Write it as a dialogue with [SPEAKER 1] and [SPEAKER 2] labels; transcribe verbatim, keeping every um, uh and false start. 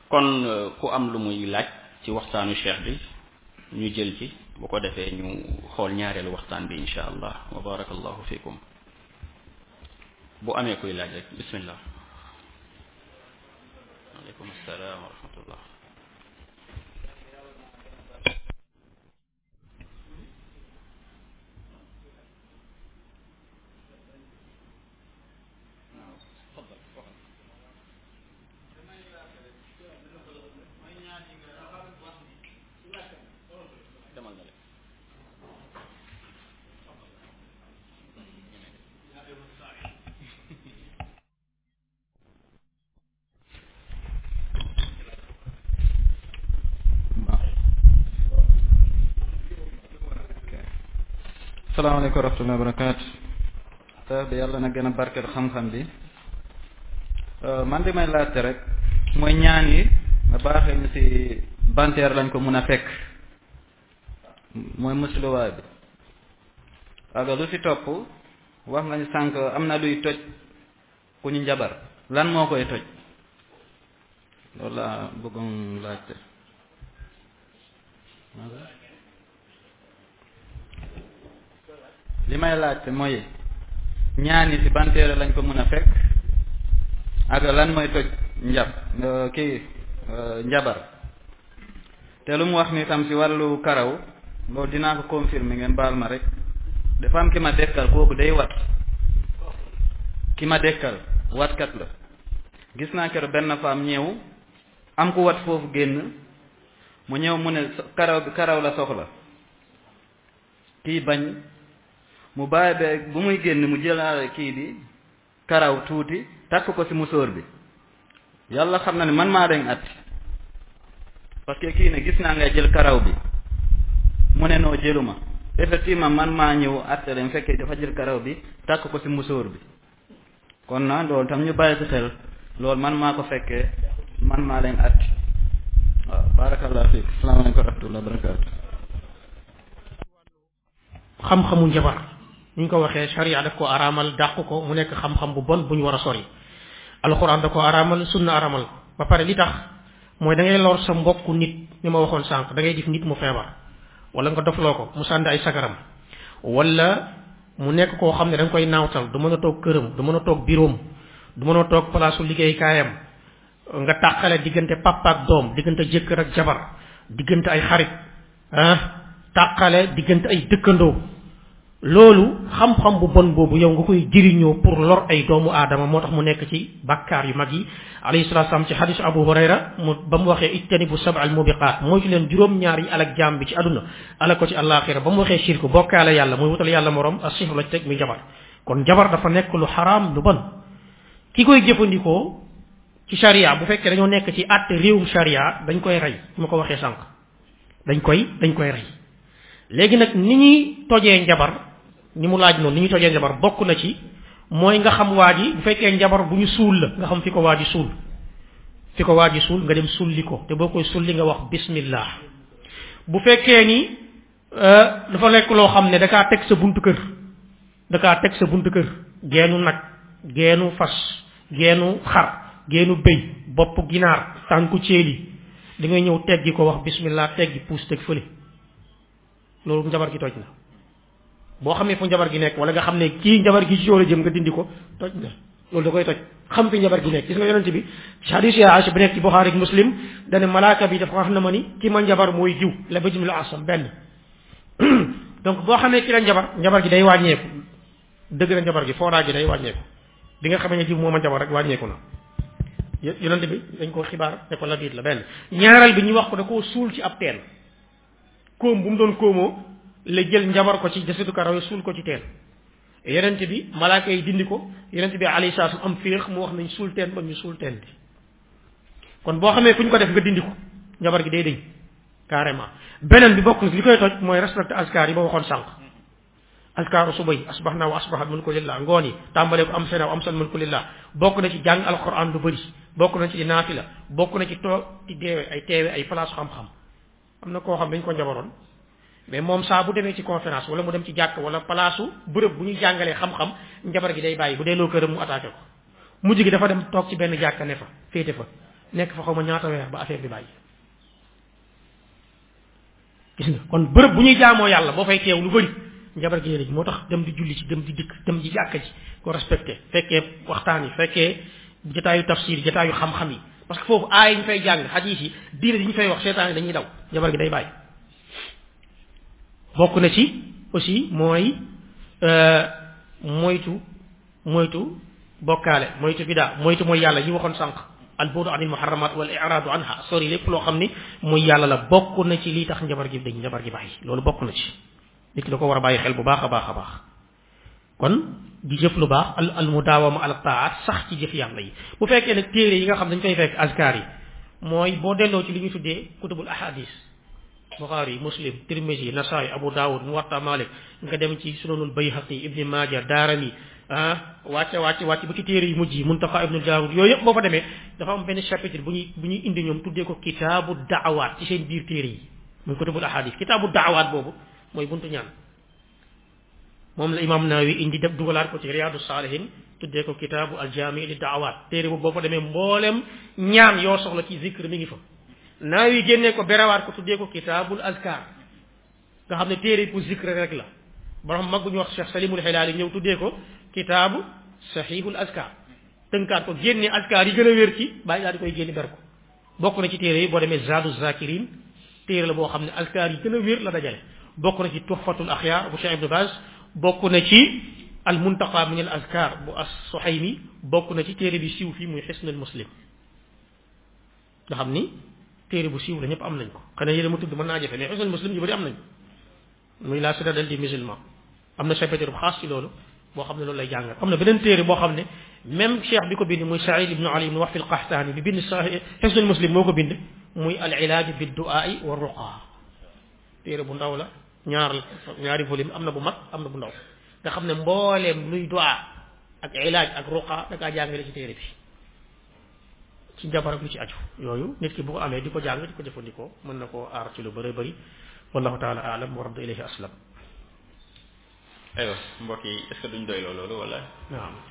[SPEAKER 1] kon ku am lu muy laaj ci waxtaanu cheikh bi ñu jël ci bu ko defee ñu xool ñaareelu waxtaan bi insha allah wa barakallahu fikum bu amee kuy laaj rek bismillah aleykum assalaam wa rahmatullah
[SPEAKER 2] salaamaaleykum wa rahmatullahi wa barakaatu te bi yàlla na gën a barkeel xam-xam bi man di may laajte rek mooy ñaan yi nga baaxee ñu ci banteer lañ ko mun a fekk mooy musluwaay bi waaga lu ci topp wax nga ñu sànq am na luy toj ku ñu njabar lan moo koy toj loolu laa bëggoon laajte li may laajte mooy ñaani ci ban téere lañ ko mën a fekk ak lan mooy toj njab kii njabar te lu mu wax ni tam ci wàllu karaw loolu dinaa ko confirmer ngeen baal ma rek dafa am ki ma dekkal kooku day wat ki ma dekkal watkat la gis naa keroog benn femme ñëw am ku wat foofu génn mu ñëw mu ne karaw bi karaw la soxla kii bañ mu bàyyi ba bu muy génn mu jëlaale kii bi karaw tuuti takk ko ci musóor bi yàlla xam na ne man maa dañ at parce que kii ne gis naa ngay jël karaw bi mu ne noo jëluma effectivement man maa ñëw atte leen fekkee dafa jël karaw bi takk ko ci musóor bi kon na loolu tam ñu bàyyi ci xel loolu man maa ko fekkee man maa leen at waaw barakallahu fiik asalaamaaleykum wa rahmatullahi wa barakaatu
[SPEAKER 3] xam-xamu njabar ni ñu ko waxee sharia daf ko araamal dàq ko mu nekk xam-xam bu bon bu ñu war a sori alxuraan da ko araamal sunna araamal ko ba pare li tax mooy da ngay lor sa mbokku nit ni ma waxoon sànq da ngay gis nit mu feebar wala nga dofloo ko mu sànni ay sagaram wala mu nekk koo xam ne da nga koy naawtal du mën a toog këram du mën a toog biroom du mën a toog palaasu liggéeykaayam nga tàqale diggante papa ak doom diggante jëkkër ak jabar diggante ay xarit ah tàqale diggante ay dëkkandoo loolu xam-xam bu bon boobu yow nga koy jëriñoo pour lor ay doomu aadama moo tax mu nekk ci bakkaar yu mag yi alayhi salaatu salaam ci xadisu Abu Hurayra mu ba mu waxee ijtanibu sab'al mubiqaat mooy ci leen juróom-ñaar yi alak jaam bi ci àdduna alak ko ci àllaaxira ba mu waxee shirk bokkaale yàlla muy wutal yàlla morom ak sihru la ci teg muy jabar kon jabar dafa nekk lu xaraam lu bon ki koy jëfandikoo ci sharia bu fekkee dañoo nekk ci àtte réewum sharia dañ koy rey ma ko waxee sànq dañ koy dañ koy rey léegi nag ni ñuy tojee njabar ni mu laaj noonu ni ñuy tojee njabar bokk na ci mooy nga xam waa ji bu fekkee njabar bu ñu suul la nga xam fi ko waa ji suul fi ko waa ji suul nga dem sulli ko te boo koy sulli nga wax bismillah bu fekkee ni dafa nekk loo xam ne da kaa teg sa buntu kër da kaa teg sa buntu kër geenu nag geenu fas geenu xar geenu bëy bopp ginaar tànku ceeli da ngay ñëw teggi ko wax bismillah teggi puus teg fële loolu njabar gi toj na boo xamee fu njabar gi nekk wala nga xam ne kii njabar gi ci yow la jëm nga dindi ko toj na loolu da koy toj xam fi njabar gi nekk gis nga yonent bi hadith ya Aisha bi nekk ci Bukhari ak Muslim dane malaaka bi dafa wax na ma ni ki ma njabar mooy jiw la ba jim la asam benn donc boo xamee ki la njabar njabar gi day wàññeeku dëgg na njabar gi fooraa gi day wàññeeku bi nga xamee ne jiw moo ma njabar rek wàññeeku na yonent bi dañ ko xibaar ne ko la biit la benn ñaareel bi ñu wax ko da koo suul ci ab teen koom bu mu doon koomoo la jël njabar ko ci jasitu karaw suul ko ci teen yonent bi malaaka yi dindi ko yonent bi alayhi salaatu am féex mu wax nañ suul teen ba ñu suul teen bi kon boo xamee fu ñu ko def nga dindi ko njabar gi day dëñ carrément beneen bi bokk na li koy toj mooy respecté askar yi ba waxoon sànq askaaru suba yi asbahna wa asbahat mulku lillah ngoon yi tàmbalee ko am sena am san mulku lillah bokk na ci jàng alquran lu bëri bokk na ci di naafila bokk na ci toog ci deewe ay teewe ay place xam-xam am na koo xam dañ ko njabaroon mais moom saa bu demee ci conférence wala mu dem ci jàkk wala place bërëb bu ñuy jàngalee xam-xam njabar gi day bàyyi bu dee loo këram mu attaqué ko mujj gi dafa dem toog ci benn jàkka ne fa féete fa nekk fa xaw ma ñaata weer ba affaire bi bàyyi gis nga kon bërëb bu ñuy jaamoo yàlla boo fay teew lu bëri njabar gi yéene ji moo tax dem di julli ci dem di dikk dem di jàkka ji ko respecté fekkee waxtaan yi fekkee jotaayu tafsir jotaayu xam-xam yi parce que foofu aay yi ñu fay jàng xadiis yi diine yi ñu fay wax seetaan yi dañuy daw njabar gi day bàyyi bokk na ci aussi mooy moytu moytu bokkaale moytu bidaa moytu mooy yàlla yi waxoon sànq al buudu anil muharramat wal i'raadu anha sori lépp loo xam ni muy yàlla la bokk na ci lii tax njabar gi dañ njabar gi bàyyi loolu bokk na ci nit ki da ko war a bàyyi xel bu baax a baax a baax kon di jëf lu baax al al mudaawama ala taat sax ci jëf yàlla yi bu fekkee nag téere yi nga xam dañ fay fekk azkar yi mooy boo delloo ci li ñu tuddee kutubul ahadis Bukhari Muslim Tirmisi Nasaayi Abu Dawud Muwatta Malik nga dem ci Sunanul Bayhaqi Ibni Maaja Daarami ah wàcce wàcce wàcce ba ci téere yu mujj yi Muntaqa Ibnu Daawud yooyu yëpp boo fa demee dafa am benn chapitre bu ñuy bu ñuy indi ñoom tuddee ko kitaabu daawaat ci seen biir téere yi muy kutubul ahadis kitaabu daawaat boobu mooy buntu ñaan moom la imam Nawawi indi def dugalaat ko ci Riyaadu Saalihin tuddee ko kitaabu aljaami li daawaat téere boobu boo fa demee mboolem ñaan yoo soxla ci zikr mi ngi fa Nawawi génnee ko berewaat ko tuddee ko kitaabul azkar nga xam ne téere pour zikr rek la borom mag bu ñu wax Cheikh Salimul Hilaali ñëw tuddee ko kitaabu sahihul azkar tënkaat ko génne azkar yi gën a wér ci bàyyi daal di koy génne ber ko bokk na ci téere yi boo demee Zaadu Zakirin téere la boo xam ne azkar yi gën a wér la dajale bokk na ci Tuhfatul Axyaar bu Cheikh Ibn Baz bokk na ci al Muntaqa min al azkar bu as-Suhaymi bokk na ci téere bi siiw fii muy Hisnul Muslim nga xam ni téere bu siiw la ñëpp am nañ ko xanaa yéen ma tudd mën naa jafe mais Hisnul Muslim yu bëri am nañ muy la citadelle des musulmans am na chapitre bu xaas ci loolu boo xam ne loolu lay jàngal am na beneen téere boo xam ne même cheikh bi ko bind muy Saïd ibnu Ali ibnu Wahfi al-Qahtani bi bind sa Hisnul Muslim moo ko bind muy al ilaaj bi du'aa'i wa ruqa téere bu ndaw la ñaar ñaari volume am na bu mag am na bu ndaw nga xam ne mbooleem luy du'a ak ilaaj ak ruqa da kaa jàngale ci téere bi ci njabar ak lu ci aju yooyu nit ki bu ko amee di ko jàng di ko jëfandikoo mën na koo aar ci lu bëri bëri wallahu taala aalam wa radda ilayhi aslam
[SPEAKER 1] aywa mbokk yi est-ce que duñ doy loolu wala
[SPEAKER 3] waaw